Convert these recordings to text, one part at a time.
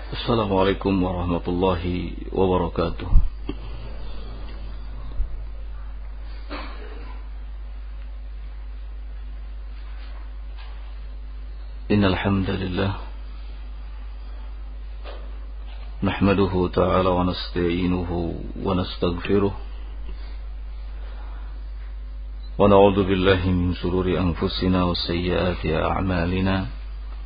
Assalamualaikum warahmatullahi wabarakatuh. Innal hamdalillah nahmaduhu ta'ala wa nasta'inuhu wa nastaghfiruh wa na'udzu billahi min shururi anfusina wa sayyiati a'malina.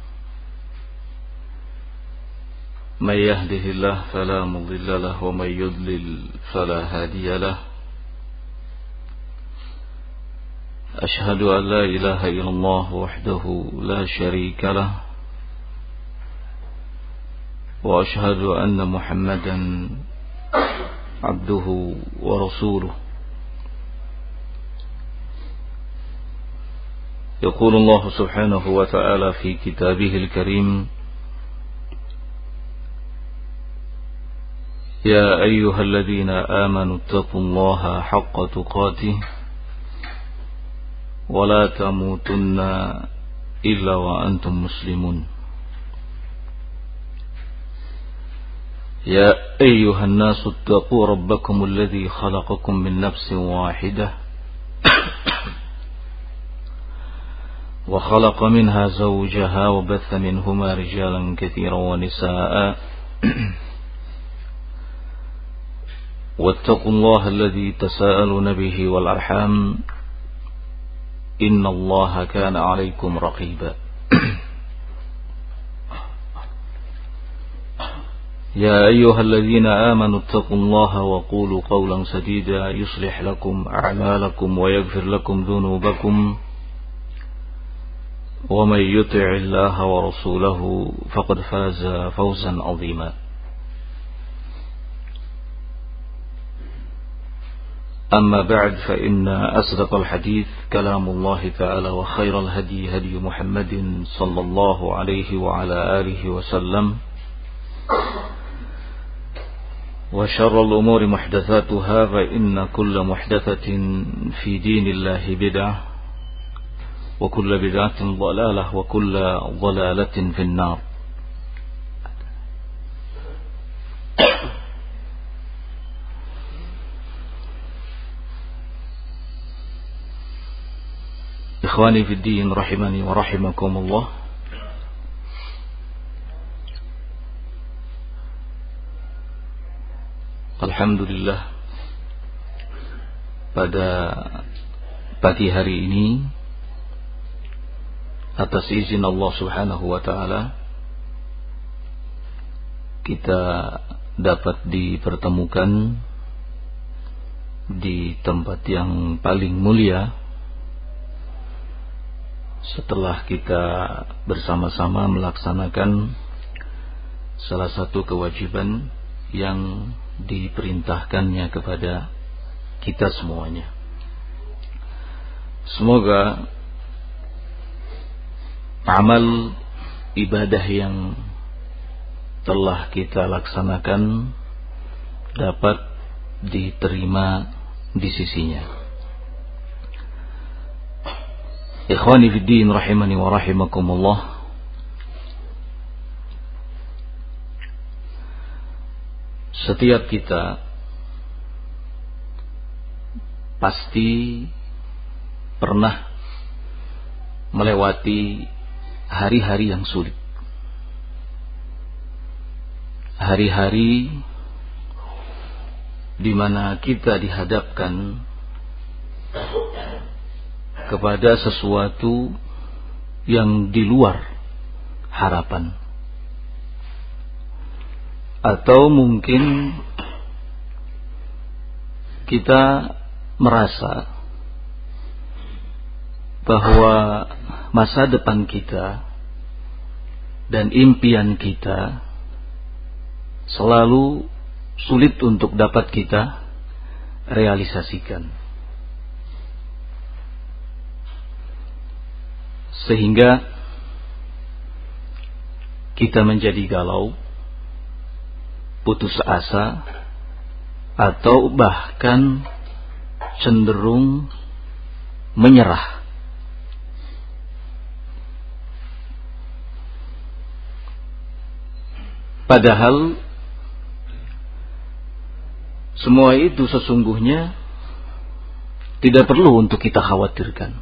من يهده الله فلا مضل له ومن يضلل فلا هادي له أشهد أن لا إله إلا الله وحده لا شريك له وأشهد أن محمدا عبده ورسوله. يقول الله سبحانه وتعالى في كتابه الكريم: يا أيها الذين آمنوا اتقوا الله حق تقاته ولا تموتن إلا وأنتم مسلمون. يا أيها الناس اتقوا ربكم الذي خلقكم من نفس واحدة وخلق منها زوجها وبث منهما رجالا كثيرا ونساء واتقوا الله الذي تساءلون به والأرحام إن الله كان عليكم رقيبا. يا أيها الذين آمنوا اتقوا الله وقولوا قولا سديدا يصلح لكم أعمالكم ويغفر لكم ذنوبكم ومن يطع الله ورسوله فقد فاز فوزا عظيما. أما بعد فإن أصدق الحديث كلام الله تعالى وخير الهدي هدي محمد صلى الله عليه وعلى آله وسلم وشر الأمور محدثاتها فإن كل محدثة في دين الله بدعة وكل بدعة ضلالة وكل ضلالة في النار. Ikhwani fi din rahimani wa rahimakumullah. Alhamdulillah, pada pagi hari ini atas izin Allah Subhanahu wa taala kita dapat dipertemukan di tempat yang paling mulia setelah kita bersama-sama melaksanakan salah satu kewajiban yang diperintahkannya kepada kita semuanya. Semoga amal ibadah yang telah kita laksanakan dapat diterima di sisinya. Ikhwani fid din rahimani wa rahimakumullah. Setiap kita pasti pernah melewati hari-hari yang sulit. Hari-hari di mana kita dihadapkan kepada sesuatu yang di luar harapan, atau mungkin kita merasa bahwa masa depan kita dan impian kita selalu sulit untuk dapat kita realisasikan. Sehingga kita menjadi galau, putus asa, atau bahkan cenderung menyerah. Padahal semua itu sesungguhnya tidak perlu untuk kita khawatirkan.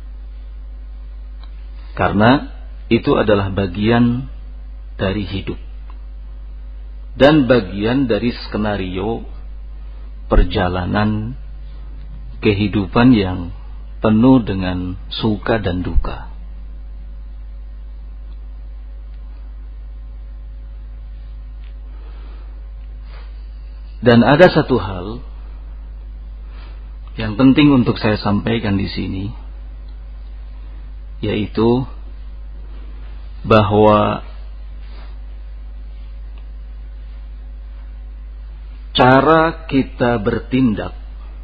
Karena itu adalah bagian dari hidup dan bagian dari skenario perjalanan kehidupan yang penuh dengan suka dan duka. Dan ada satu hal yang penting untuk saya sampaikan di sini, yaitu bahwa cara kita bertindak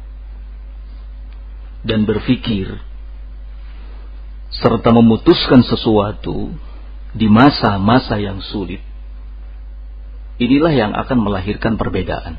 dan berpikir serta memutuskan sesuatu di masa-masa yang sulit, inilah yang akan melahirkan perbedaan.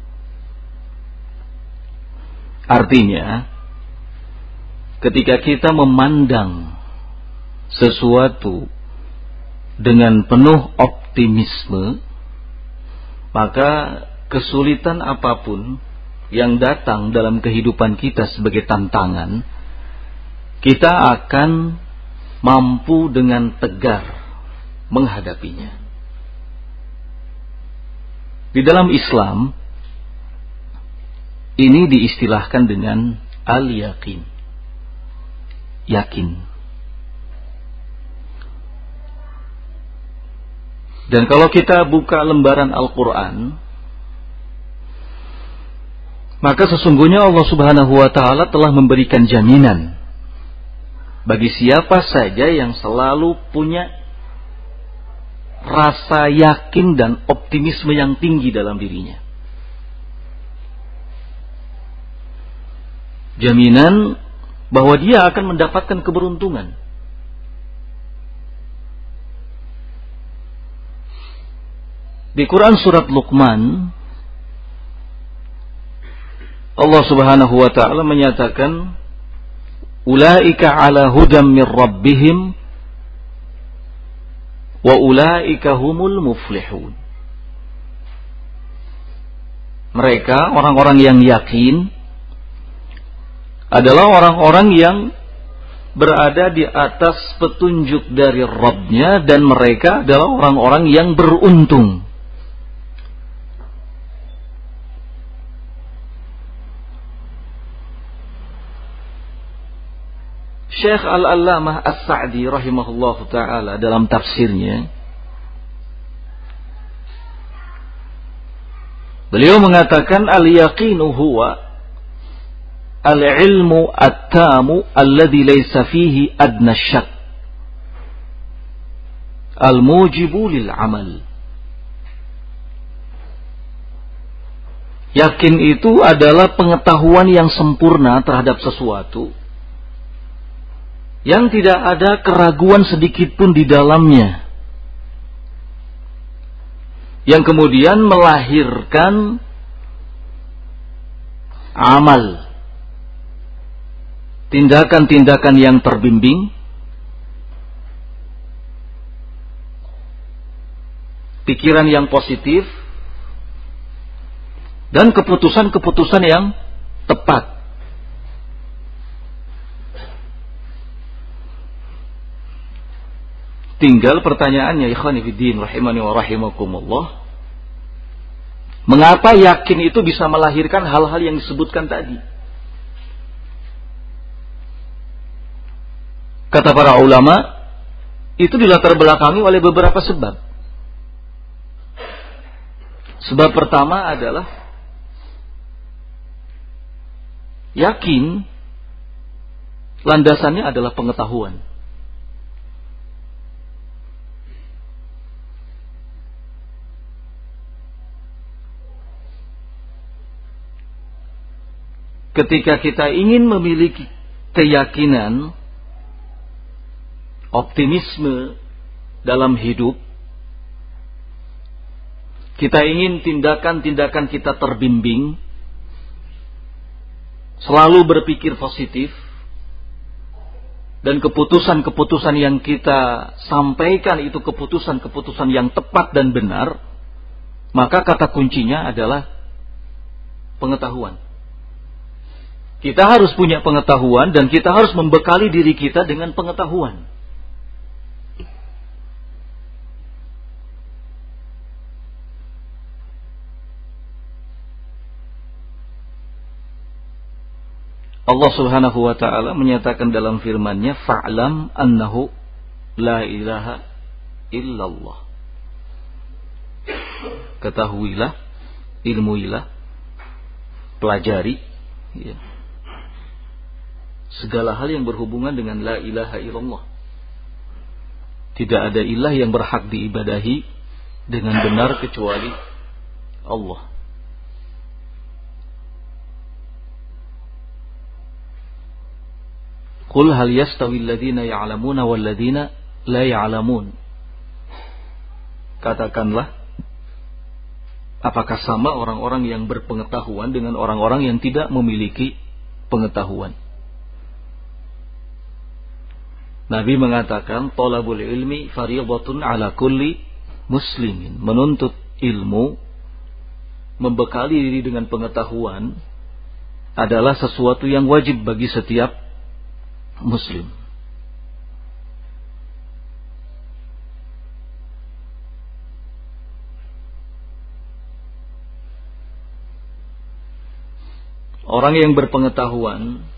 Artinya, ketika kita memandang sesuatu dengan penuh optimisme, maka kesulitan apapun yang datang dalam kehidupan kita sebagai tantangan, kita akan mampu dengan tegar menghadapinya. Di dalam Islam, ini diistilahkan dengan al-yaqin, yakin. Dan kalau kita buka lembaran Al-Quran, maka sesungguhnya Allah Subhanahu wa Ta'ala telah memberikan jaminan bagi siapa saja yang selalu punya rasa yakin dan optimisme yang tinggi dalam dirinya. Jaminan bahwa dia akan mendapatkan keberuntungan. Di Quran surat Luqman, Allah Subhanahu wa Ta'ala menyatakan, ulaika ala hudam mir rabbihim wa ulaika humul muflihun. Mereka, orang-orang yang yakin, adalah orang-orang yang berada di atas petunjuk dari Rabb-nya, dan mereka adalah orang-orang yang beruntung. Syekh Al-Allamah As-Sa'di rahimahullahu ta'ala dalam tafsirnya, beliau mengatakan al-yaqinu huwa al-ilmu at-tamu alladhi laysa fihi adna syak al-mujibu lil amal. Yakin itu adalah pengetahuan yang sempurna terhadap sesuatu yang tidak ada keraguan sedikit pun di dalamnya, yang kemudian melahirkan amal, tindakan-tindakan yang terbimbing, pikiran yang positif, dan keputusan-keputusan yang tepat. Tinggal pertanyaannya, ikhwani fiddin rahimani wa rahimakumullah, mengapa yakin itu bisa melahirkan hal-hal yang disebutkan tadi? Kata para ulama, itu dilatar belakangi oleh beberapa sebab. Sebab pertama adalah yakin landasannya adalah pengetahuan. Ketika kita ingin memiliki keyakinan, optimisme dalam hidup, kita ingin tindakan-tindakan kita terbimbing, selalu berpikir positif, dan keputusan-keputusan yang kita sampaikan itu keputusan-keputusan yang tepat dan benar, Maka kata kuncinya adalah pengetahuan. Kita harus punya pengetahuan dan kita harus membekali diri kita dengan pengetahuan. Allah Subhanahu wa taala menyatakan dalam firman-Nya, "Fa'lam annahu la ilaha illallah." Ketahuilah, ilmuilah, pelajari ya, segala hal yang berhubungan dengan la ilaha illallah. Tidak ada ilah yang berhak diibadahi dengan benar kecuali Allah. Qul hal yastawi alladhina ya'lamuna wal ladhina la ya'lamun. Katakanlah, apakah sama orang-orang yang berpengetahuan dengan orang-orang yang tidak memiliki pengetahuan? Nabi mengatakan, talabul ilmi fardhatun ala kulli muslimin. Menuntut ilmu, membekali diri dengan pengetahuan adalah sesuatu yang wajib bagi setiap Muslim. Orang yang berpengetahuan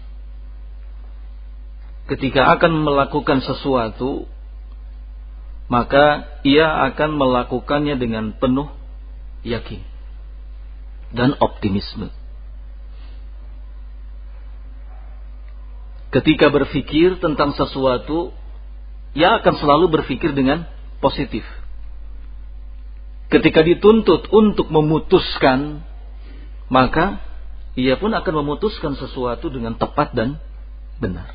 ketika akan melakukan sesuatu, maka ia akan melakukannya dengan penuh yakin dan optimisme. Ketika berpikir tentang sesuatu, ia akan selalu berpikir dengan positif. Ketika dituntut untuk memutuskan, maka ia pun akan memutuskan sesuatu dengan tepat dan benar.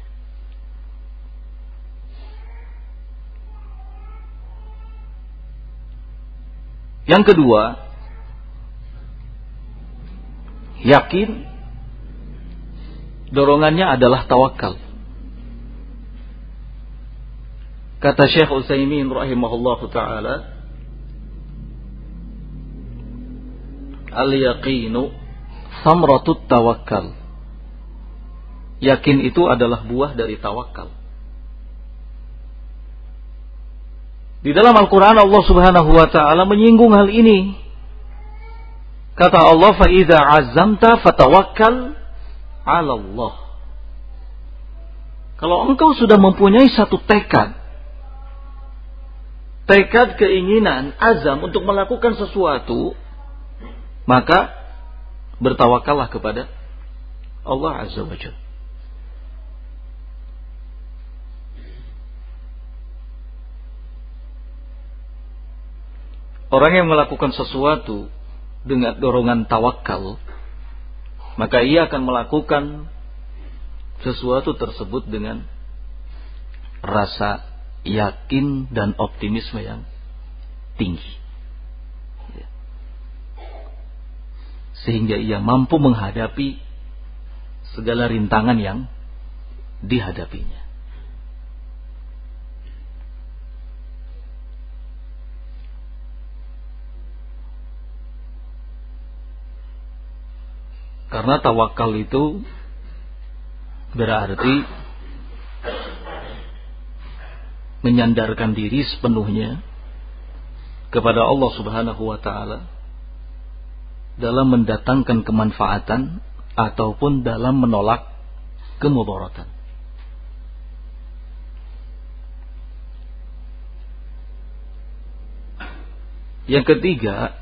Yang kedua, yakin. Dorongannya adalah tawakal. Kata Syekh Utsaimin rahimahullahu taala, al-yaqinu samratut tawakkal. Yakin itu adalah buah dari tawakal. Di dalam Al-Quran Allah Subhanahu wa taala menyinggung hal ini. Kata Allah, fa idza azamta fatawakkal 'ala Allah. Kalau engkau sudah mempunyai satu tekad, keinginan, azam untuk melakukan sesuatu, maka bertawakallah kepada Allah Azza wa Jalla. Orang yang melakukan sesuatu dengan dorongan tawakal, maka ia akan melakukan sesuatu tersebut dengan rasa yakin dan optimisme yang tinggi, sehingga ia mampu menghadapi segala rintangan yang dihadapinya. Karena tawakal itu berarti menyandarkan diri sepenuhnya kepada Allah Subhanahu wa taala dalam mendatangkan kemanfaatan ataupun dalam menolak kemudaratan. Yang ketiga,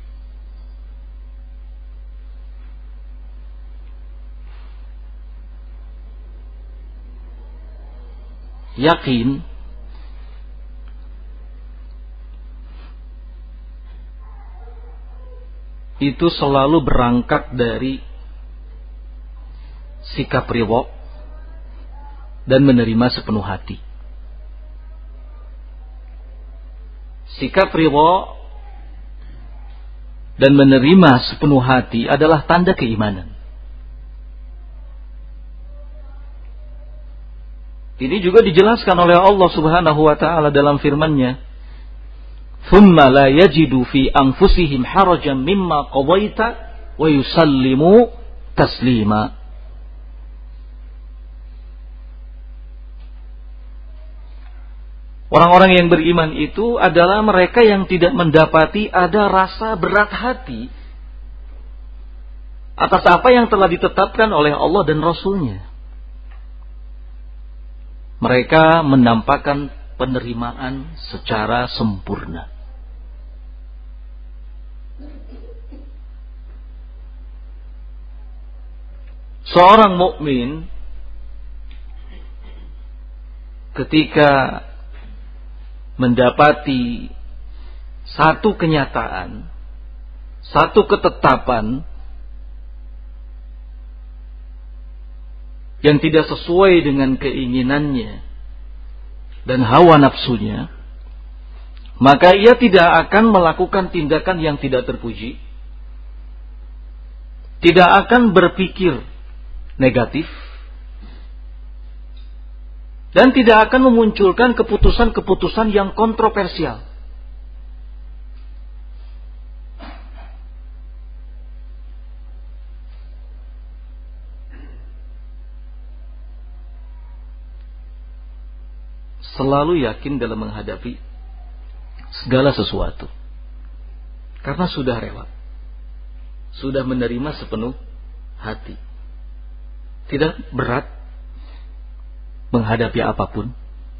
yakin itu selalu berangkat dari sikap ridha dan menerima sepenuh hati. Sikap ridha dan menerima sepenuh hati adalah tanda keimanan. Ini juga dijelaskan oleh Allah Subhanahu wa taala dalam firman-Nya, thumma la yajidu fi anfusihim harajan mimma qadaita wa yusallimu taslima. Orang-orang yang beriman itu adalah mereka yang tidak mendapati ada rasa berat hati atas apa yang telah ditetapkan oleh Allah dan Rasul-Nya. Mereka menampakkan penerimaan secara sempurna. Seorang mukmin ketika mendapati satu kenyataan, satu ketetapan yang tidak sesuai dengan keinginannya dan hawa nafsunya, maka ia tidak akan melakukan tindakan yang tidak terpuji, tidak akan berpikir negatif, dan tidak akan memunculkan keputusan-keputusan yang kontroversial. Selalu yakin dalam menghadapi segala sesuatu. Karena sudah rela. Sudah menerima sepenuh hati. Tidak berat menghadapi apapun.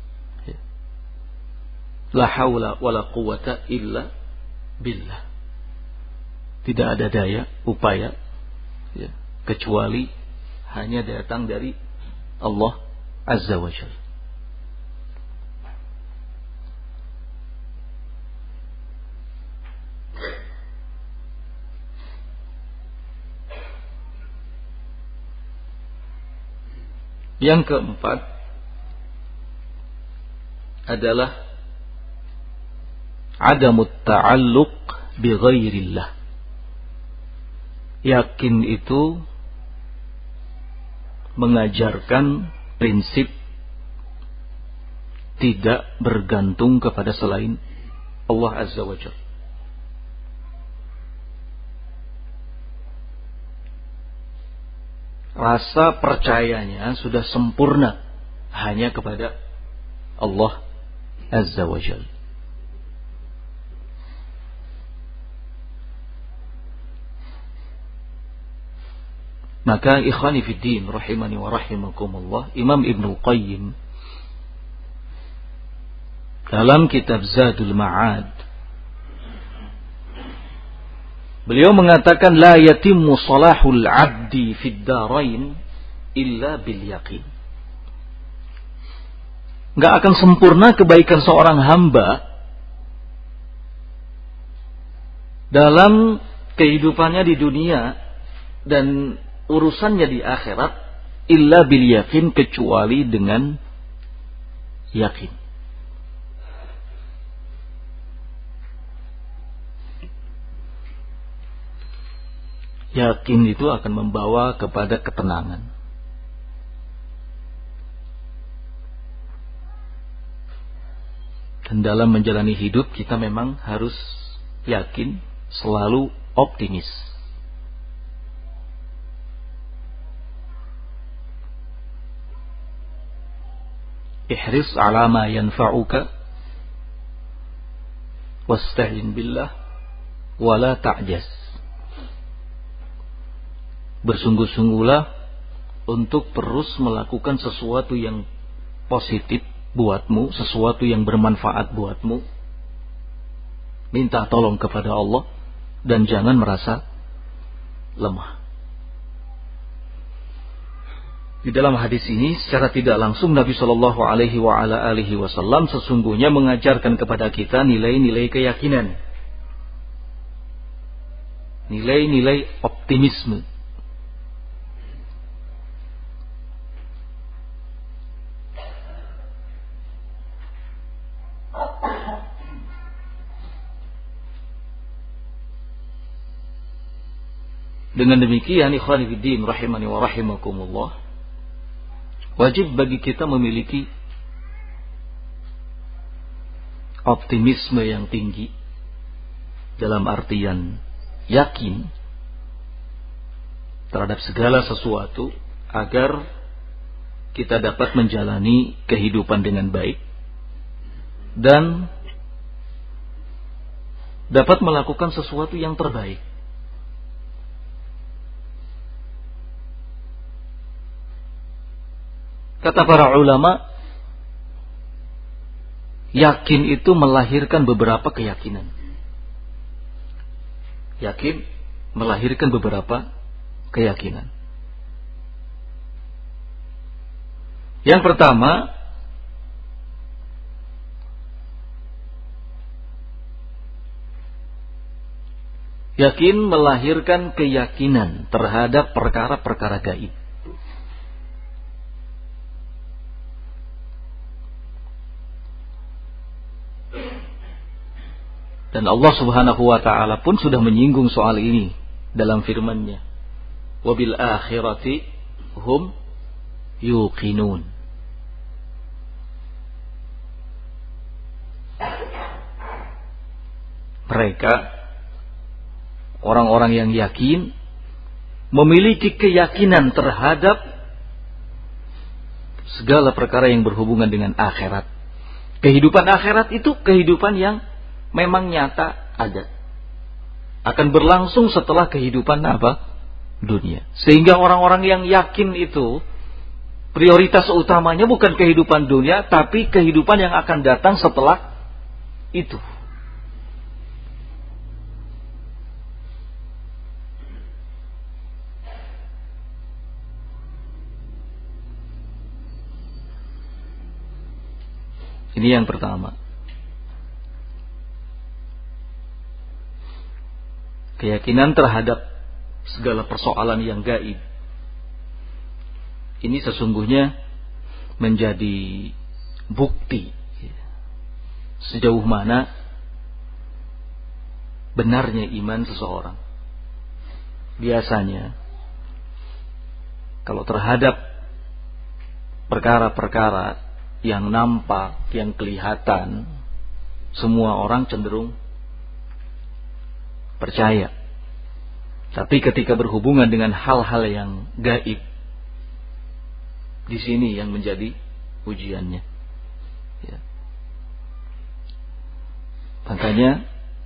La haula wala quwata illa billah. Tidak ada daya, upaya kecuali hanya datang dari Allah Azza wa Jalla. Yang keempat adalah adamut ta'alluq bi ghairillah. Yakin itu mengajarkan prinsip tidak bergantung kepada selain Allah Azza wa Jalla. Rasa percayanya sudah sempurna hanya kepada Allah Azza wa Jalla. Maka ikhwani fiddin rahimani wa rahimakumullah, Imam Ibnu Qayyim dalam kitab Zadul Ma'ad beliau mengatakan la yatimmu salahul 'abdi fid darain illa bil yaqin. Enggak akan sempurna kebaikan seorang hamba dalam kehidupannya di dunia dan urusannya di akhirat illa bil yaqin, kecuali dengan yakin. Yakin itu akan membawa kepada ketenangan. Dan dalam menjalani hidup kita memang harus yakin, selalu optimis. Ihris ala ma yanfa'uka wasta'in billah wala ta'jas. Bersungguh-sungguhlah untuk terus melakukan sesuatu yang positif buatmu, sesuatu yang bermanfaat buatmu. Minta tolong kepada Allah dan jangan merasa lemah. Di dalam hadis ini secara tidak langsung Nabi Shallallahu Alaihi Wasallam sesungguhnya mengajarkan kepada kita nilai-nilai keyakinan, nilai-nilai optimisme. Dengan demikian ikhwani fiddin rahimani wa rahimakumullah, wajib bagi kita memiliki optimisme yang tinggi, dalam artian yakin terhadap segala sesuatu agar kita dapat menjalani kehidupan dengan baik dan dapat melakukan sesuatu yang terbaik. Kata para ulama, yakin itu melahirkan beberapa keyakinan. Yakin melahirkan beberapa keyakinan. Yang pertama, yakin melahirkan keyakinan terhadap perkara-perkara gaib. Dan Allah Subhanahu wa ta'ala pun sudah menyinggung soal ini dalam firman-Nya. Wabil akhirati hum yuqinun. Mereka, orang-orang yang yakin, memiliki keyakinan terhadap segala perkara yang berhubungan dengan akhirat. Kehidupan akhirat itu kehidupan yang memang nyata ada. Akan berlangsung setelah kehidupan dunia. Sehingga orang-orang yang yakin itu prioritas utamanya bukan kehidupan dunia, tapi kehidupan yang akan datang setelah itu. Ini yang pertama. Keyakinan terhadap segala persoalan yang gaib. Ini sesungguhnya menjadi bukti sejauh mana benarnya iman seseorang. Biasanya kalau terhadap perkara-perkara yang nampak, yang kelihatan, semua orang cenderung percaya. Tapi ketika berhubungan dengan hal-hal yang gaib, di sini yang menjadi ujiannya. Ya. Makanya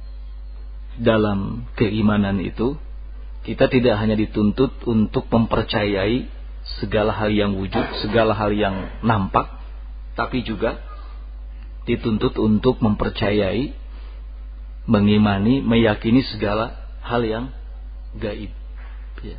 dalam keimanan itu kita tidak hanya dituntut untuk mempercayai segala hal yang wujud, segala hal yang nampak, tapi juga dituntut untuk mempercayai, mengimani, meyakini segala hal yang gaib. Ya.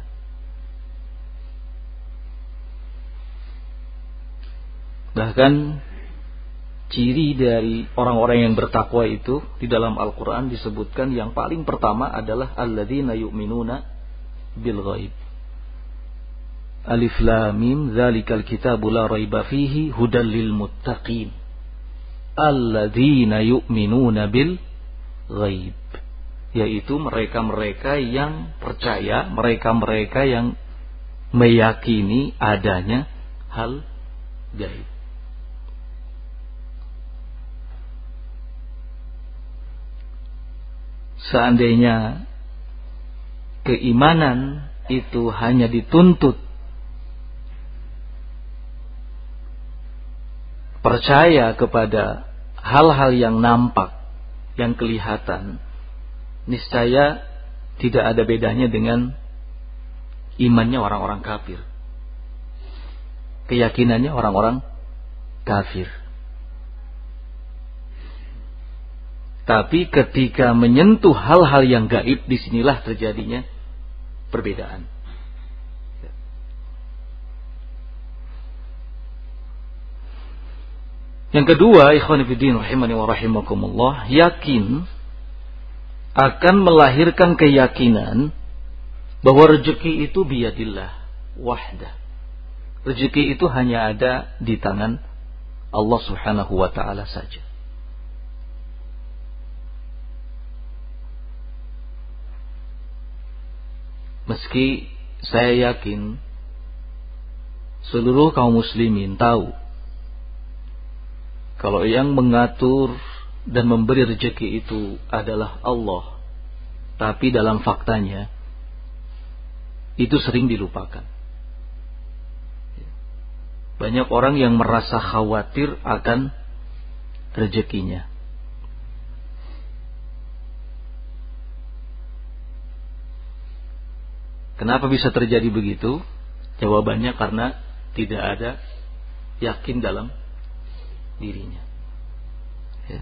Bahkan ciri dari orang-orang yang bertakwa itu di dalam Al-Quran disebutkan yang paling pertama adalah alladzina yu'minuna bil ghaib. Alif lam mim dzalikal kitabu la raiba fihi hudal lil muttaqin. Alladzina yu'minuna bil ghaib, yaitu mereka-mereka yang percaya, mereka-mereka yang meyakini adanya hal gaib. Seandainya keimanan itu hanya dituntut percaya kepada hal-hal yang nampak, yang kelihatan, niscaya tidak ada bedanya dengan imannya orang-orang kafir, keyakinannya orang-orang kafir. Tapi ketika menyentuh hal-hal yang gaib, disinilah terjadinya perbedaan. Yang kedua, ikhwan fillah rahimani wa rahimakumullah, yakin akan melahirkan keyakinan bahwa rezeki itu biyadillah wahdah. Rezeki itu hanya ada di tangan Allah Subhanahu wa ta'ala saja. Meski saya yakin seluruh kaum muslimin tahu kalau yang mengatur dan memberi rezeki itu adalah Allah, tapi dalam faktanya itu sering dilupakan. Banyak orang yang merasa khawatir akan rezekinya. Kenapa bisa terjadi begitu? Jawabannya karena tidak ada yakin dalam dirinya. Ya.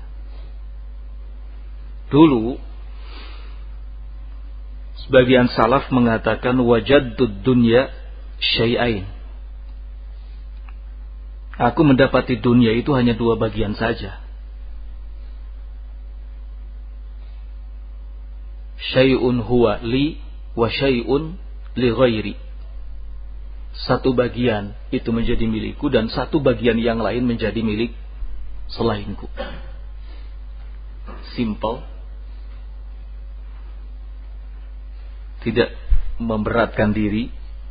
Dulu sebagian salaf mengatakan wajadtud dunya syai'ain. Aku mendapati dunia itu hanya 2 bagian saja. Syai'un huwa li wa syai'un li ghairi. Satu bagian itu menjadi milikku dan satu bagian yang lain menjadi milik selainku. Simple. Tidak memberatkan diri.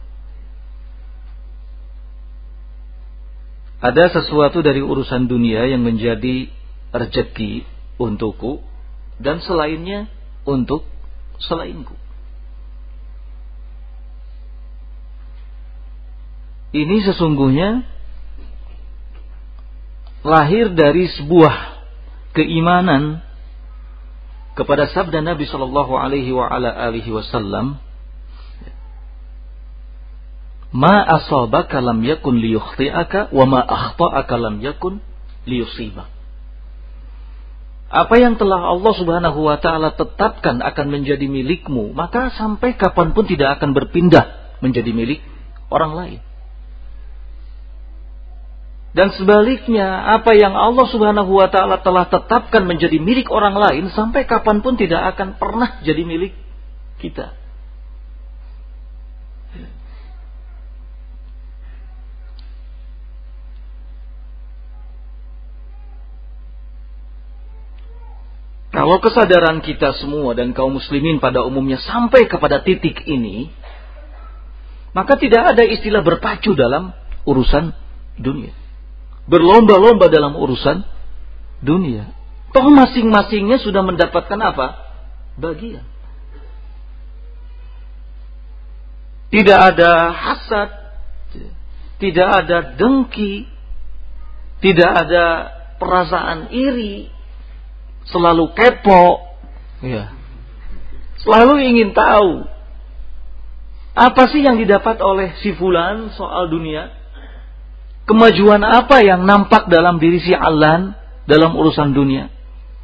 Ada sesuatu dari urusan dunia yang menjadi rezeki untukku dan selainnya untuk selainku. Ini sesungguhnya lahir dari sebuah keimanan kepada sabda Nabi sallallahu alaihi wasallam, "Ma asabaka lam yakun liyukhti'aka wa ma akhta'aka lam yakun liyusibak." Apa yang telah Allah Subhanahu wa taala tetapkan akan menjadi milikmu, maka sampai kapanpun tidak akan berpindah menjadi milik orang lain. Dan sebaliknya, apa yang Allah Subhanahu wa taala telah tetapkan menjadi milik orang lain sampai kapanpun tidak akan pernah jadi milik kita. Kalau kesadaran kita semua dan kaum muslimin pada umumnya sampai kepada titik ini, maka tidak ada istilah berpacu dalam urusan dunia. Berlomba-lomba dalam urusan dunia. Toh masing-masingnya sudah mendapatkan apa? Bagian. Tidak ada hasad, tidak ada dengki, tidak ada perasaan iri, selalu kepo, ya. Selalu ingin tahu apa sih yang didapat oleh si fulan soal dunia. Kemajuan apa yang nampak dalam diri si Alan dalam urusan dunia?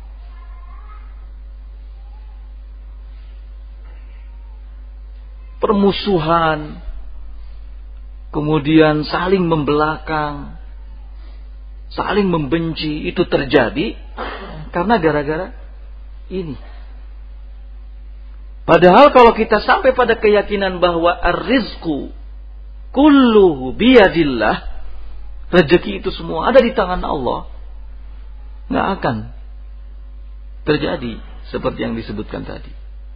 Permusuhan, kemudian saling membelakang, saling membenci, itu terjadi karena gara-gara ini. Padahal kalau kita sampai pada keyakinan bahwa ar-rizqu kulluhu biyadillah, rezeki itu semua ada di tangan Allah, nggak akan terjadi seperti yang disebutkan tadi.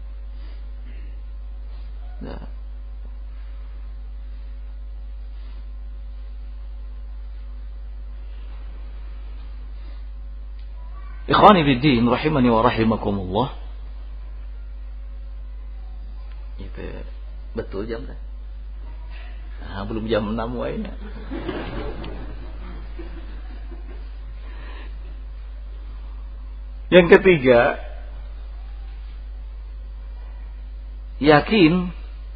Nah. Ikhwani fiddin rahimani wa rahimakumullah. Itu betul jam dah. Nah, belum jam 6 wainya. Yang ketiga, yakin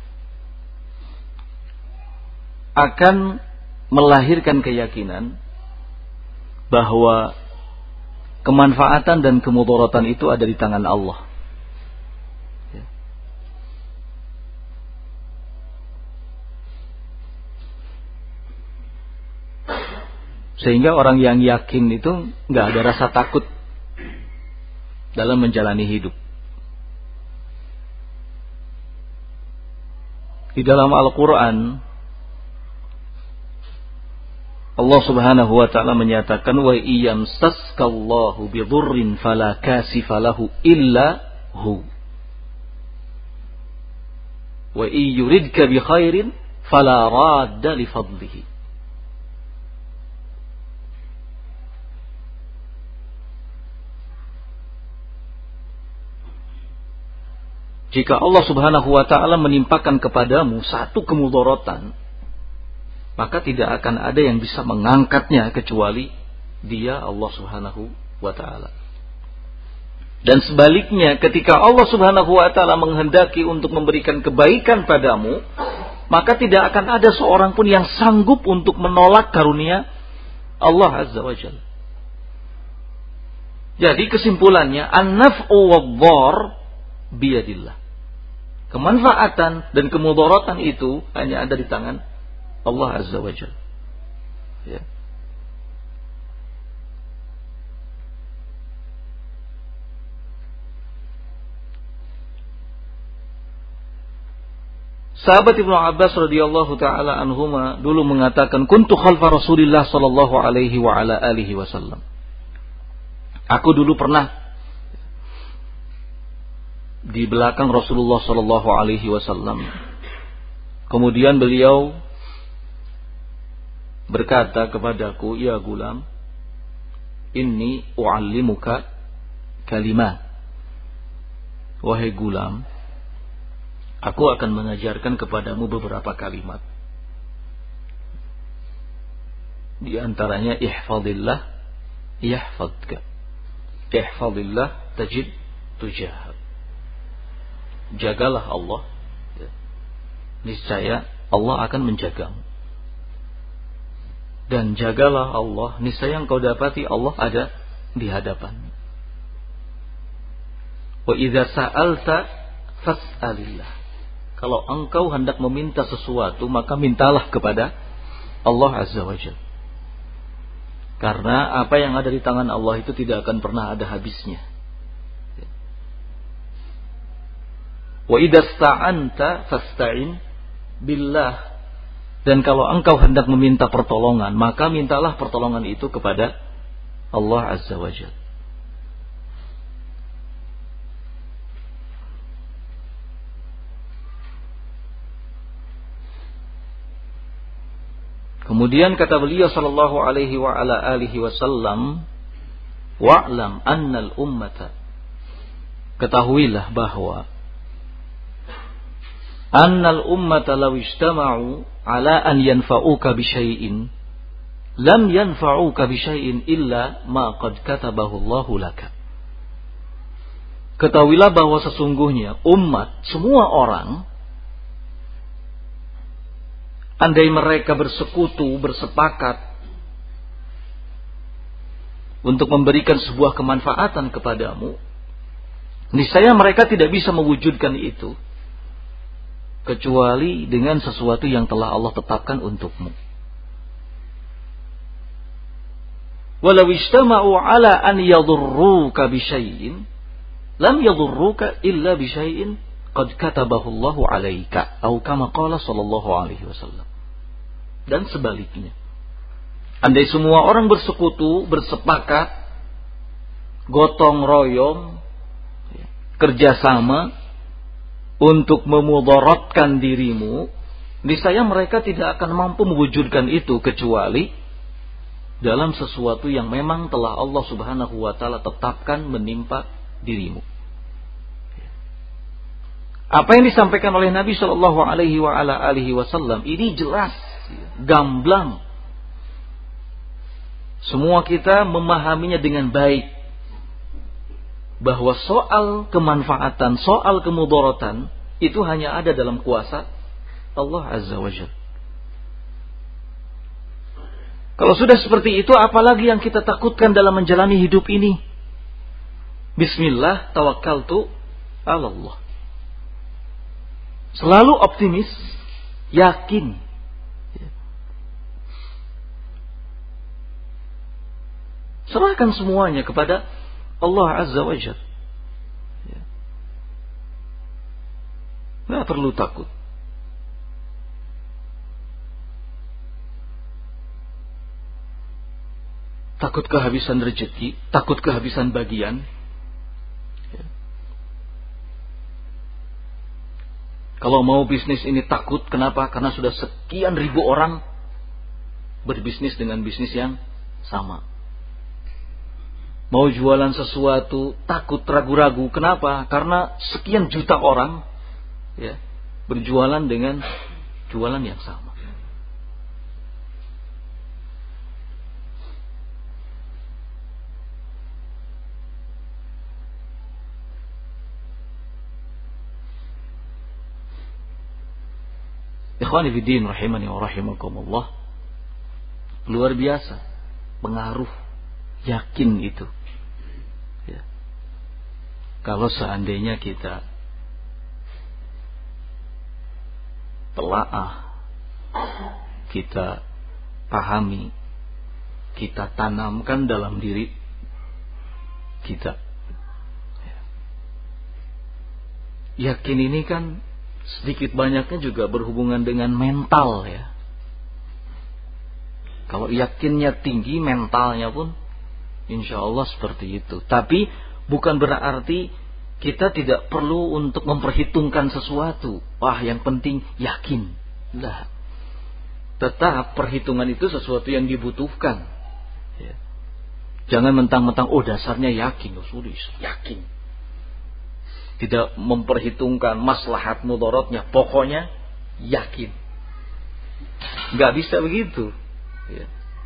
akan melahirkan keyakinan bahwa kemanfaatan dan kemudaratan itu ada di tangan Allah. Sehingga orang yang yakin itu nggak ada rasa takut dalam menjalani hidup. Di dalam Al-Quran, Allah Subhanahu wa ta'ala menyatakan, wa iyamsaskallahu bidurrin fala kasifa lahu illa hu, wa iyuridka bi khairin fala radda li fadlihi. jika Allah Subhanahu wa taala menimpakan kepadamu satu kemudaratan, maka tidak akan ada yang bisa mengangkatnya kecuali Dia, Allah Subhanahu wa taala. Dan sebaliknya, ketika Allah Subhanahu wa taala menghendaki untuk memberikan kebaikan padamu, maka tidak akan ada seorang pun yang sanggup untuk menolak karunia Allah Azza wa Jalla. Jadi kesimpulannya, an-naf'u wad-dhar biyadillah. Kemanfaatan dan kemudaratan itu hanya ada di tangan Allah Azza wa Jalla. Ya. Sahabat Ibnu Abbas radhiyallahu taala anhuma dulu mengatakan, kuntu khalfa Rasulillah sallallahu alaihi wa ala alihi wasallam. Aku dulu pernah di belakang Rasulullah sallallahu alaihi wasallam. Kemudian beliau berkata kepadaku, ya gulam, inni u'allimuka kalimat. Wahai gulam, aku akan mengajarkan kepadamu beberapa kalimat. Di antaranya ihfazillah yahfazka. Ihfazillah tajid tujahak. Jagalah Allah, niscaya Allah akan menjagamu. Dan jagalah Allah, niscaya engkau dapati Allah ada di hadapanmu. Wa idza sa'alta fas'alillah. Kalau engkau hendak meminta sesuatu, maka mintalah kepada Allah Azza wa Jalla. Karena apa yang ada di tangan Allah itu tidak akan pernah ada habisnya. Wa idza sta'anta fasta'in billah. Dan kalau engkau hendak meminta pertolongan, maka mintalah pertolongan itu kepada Allah Azza wa Jalla. Kemudian kata beliau sallallahu alaihi wa ala alihi wasallam, wa'lam annal ummata, ketahuilah bahwa annal ummata law ijtama'u ala an yanfa'uka bi syai'in lam yanfa'uka bi syai'in illa ma qad katabahu Allahu laka. Ketahuilah bahwa sesungguhnya umat, semua orang, andai mereka bersekutu, bersepakat untuk memberikan sebuah kemanfaatan kepadamu, niscaya mereka tidak bisa mewujudkan itu kecuali dengan sesuatu yang telah Allah tetapkan untukmu. Walau ijtama'u ala an yadurruka bi syai'in lam yadurruka illa bi syai'in qad katabahu Allahu 'alaika, atau kama qala sallallahu alaihi wasallam. Dan sebaliknya, andai semua orang bersekutu, bersepakat, gotong royong, kerjasama untuk memudaratkan dirimu, niscaya mereka tidak akan mampu mewujudkan itu kecuali dalam sesuatu yang memang telah Allah Subhanahu wa taala tetapkan menimpa dirimu. Apa yang disampaikan oleh Nabi sallallahu alaihi wa ala alihi wasallam ini jelas, gamblang. Semua kita memahaminya dengan baik, bahwa soal kemanfaatan, soal kemudaratan itu hanya ada dalam kuasa Allah Azza wa Jalla. Kalau sudah seperti itu, apalagi yang kita takutkan dalam menjalani hidup ini? Bismillah, tawakkaltu 'ala Allah. Selalu optimis, yakin. Serahkan semuanya kepada Allah Azza wa Jalla. Tidak perlu takut. Takut kehabisan rezeki, takut kehabisan bagian. Kalau mau bisnis ini takut, kenapa? Karena sudah sekian ribu orang berbisnis dengan bisnis yang sama. Mau jualan sesuatu takut ragu-ragu. Kenapa? Karena sekian juta orang ya berjualan dengan jualan yang sama. Ikhwani fiddin rahimani wa rahimakumullah. Luar biasa pengaruh yakin itu ya. Kalau seandainya kita telaah, kita pahami, kita tanamkan dalam diri kita ya. Yakin ini kan sedikit banyaknya juga berhubungan dengan mental ya. Kalau yakinnya tinggi, mentalnya pun insya Allah seperti itu. Tapi bukan berarti kita tidak perlu untuk memperhitungkan sesuatu. Wah, yang penting yakin. Lah, tetap perhitungan itu sesuatu yang dibutuhkan ya. Jangan mentang-mentang dasarnya yakin. Sudah yakin, tidak memperhitungkan maslahat mudaratnya, pokoknya yakin. Nggak bisa begitu ya.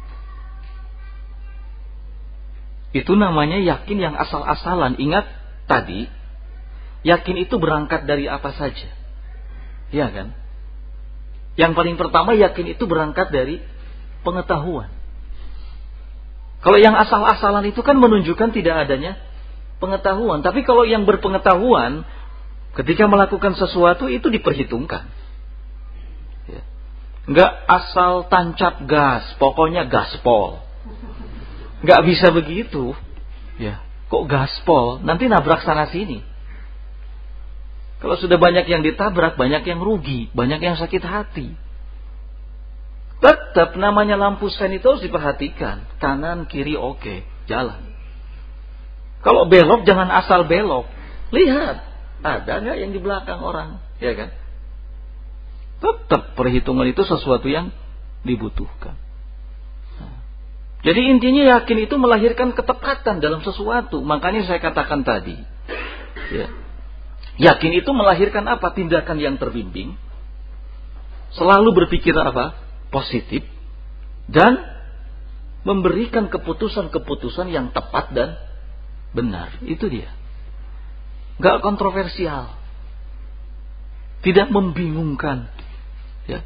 Itu namanya yakin yang asal-asalan. Ingat tadi, yakin itu berangkat dari apa saja, ya kan? Yang paling pertama, yakin itu berangkat dari pengetahuan. Kalau yang asal-asalan itu kan menunjukkan tidak adanya pengetahuan. Tapi kalau yang berpengetahuan ketika melakukan sesuatu itu diperhitungkan ya. Enggak asal tancap gas, pokoknya gaspol. Enggak bisa begitu ya. Kok gaspol? Nanti nabrak sana sini. Kalau sudah banyak yang ditabrak, banyak yang rugi, banyak yang sakit hati. Tetap namanya lampu sen itu harus diperhatikan. Kanan, kiri, oke, jalan. Kalau belok jangan asal belok. Lihat, ada nggak yang di belakang orang, ya kan? Tetap perhitungan itu sesuatu yang dibutuhkan. Jadi intinya yakin itu melahirkan ketepatan dalam sesuatu. Makanya saya katakan tadi, ya, yakin itu melahirkan apa? Tindakan yang terbimbing, selalu berpikir apa? Positif, dan memberikan keputusan-keputusan yang tepat dan benar. Itu dia. Gak kontroversial, tidak membingungkan ya.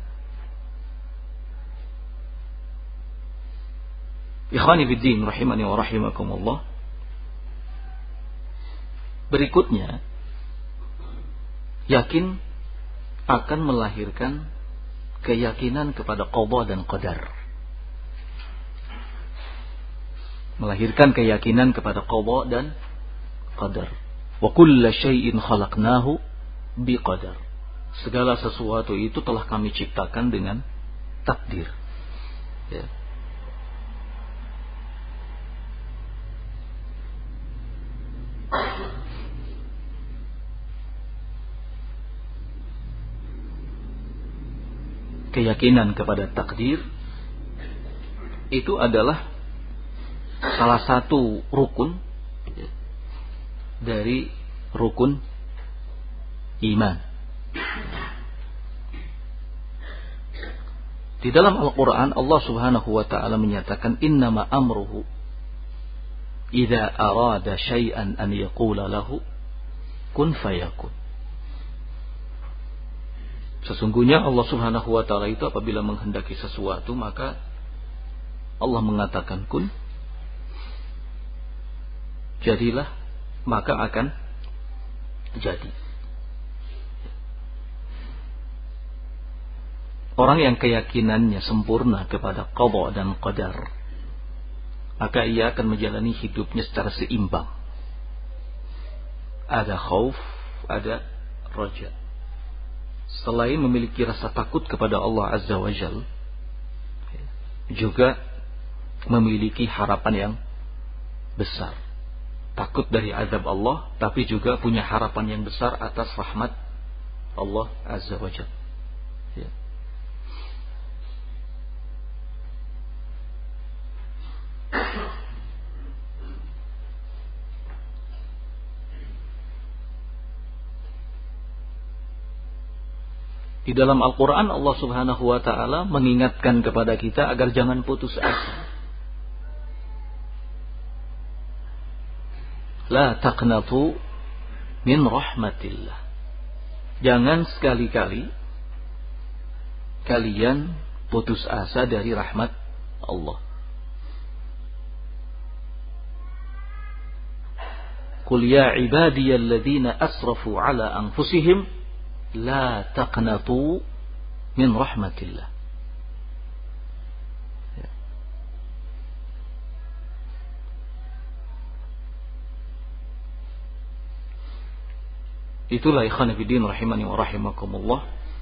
Ikhwani fiddin rahimani wa rahimakumullah. Berikutnya, yakin akan melahirkan keyakinan kepada qada dan qadar. Melahirkan keyakinan kepada qada dan qadar. Wa kulla syai'in khalaqnahu biqadar. Segala sesuatu itu telah kami ciptakan dengan takdir. Ya. Keyakinan kepada takdir itu adalah salah satu rukun dari rukun iman. Di dalam Al-Quran Allah subhanahu wa ta'ala menyatakan innama amruhu idza arada syai'an an yaqula lahu kun fayakun. Sesungguhnya Allah subhanahu wa ta'ala itu apabila menghendaki sesuatu maka Allah mengatakan kun, jadilah, maka akan jadi. Orang yang keyakinannya sempurna kepada qada dan qadar, maka ia akan menjalani hidupnya secara seimbang. Ada khauf, ada raja. Selain memiliki rasa takut kepada Allah Azza wa Jal, juga memiliki harapan yang besar. Takut dari azab Allah, tapi juga punya harapan yang besar atas rahmat Allah Azza wa Jal. Ya. Di dalam Al-Quran Allah subhanahu wa ta'ala mengingatkan kepada kita agar jangan putus asa. La taqnatu min rahmatillah. Jangan sekali-kali kalian putus asa dari rahmat Allah. Qul ya ibadiyalladzina asrafu ala anfusihim la taqnatu min rahmatillah. Itulah ikhwan fillah rahimani wa rahimakumullah,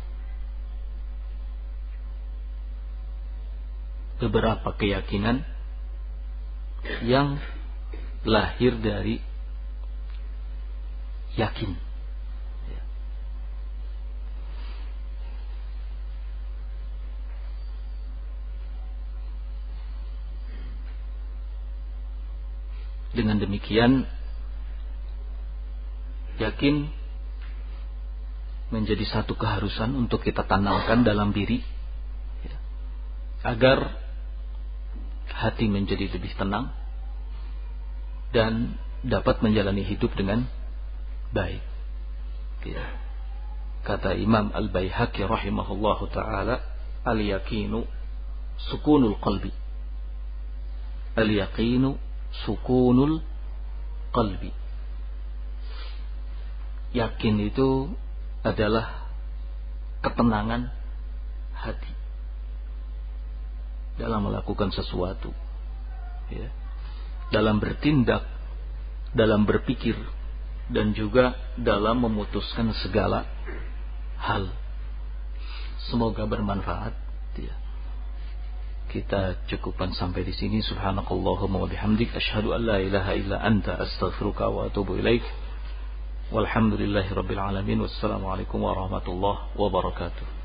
beberapa keyakinan yang lahir dari yakin. Dengan demikian yakin menjadi satu keharusan untuk kita tanamkan dalam diri, agar hati menjadi lebih tenang dan dapat menjalani hidup dengan baik. Kata Imam Al-Baihaqi rahimahullahu ta'ala, al-yaqinu sukunul qalbi. Al-yaqinu sukunul qalbi. Yakin itu adalah ketenangan hati dalam melakukan sesuatu, dalam bertindak, dalam berpikir, dan juga dalam memutuskan segala hal. Semoga bermanfaat. Kita cukupkan sampai di sini. Subhanakallahumma wa bihamdik, asyhadu an la ilaha illa anta, astaghfiruka wa atubu ilaik. Walhamdulillahi rabbil alamin. Wassalamualaikum warahmatullahi wabarakatuh.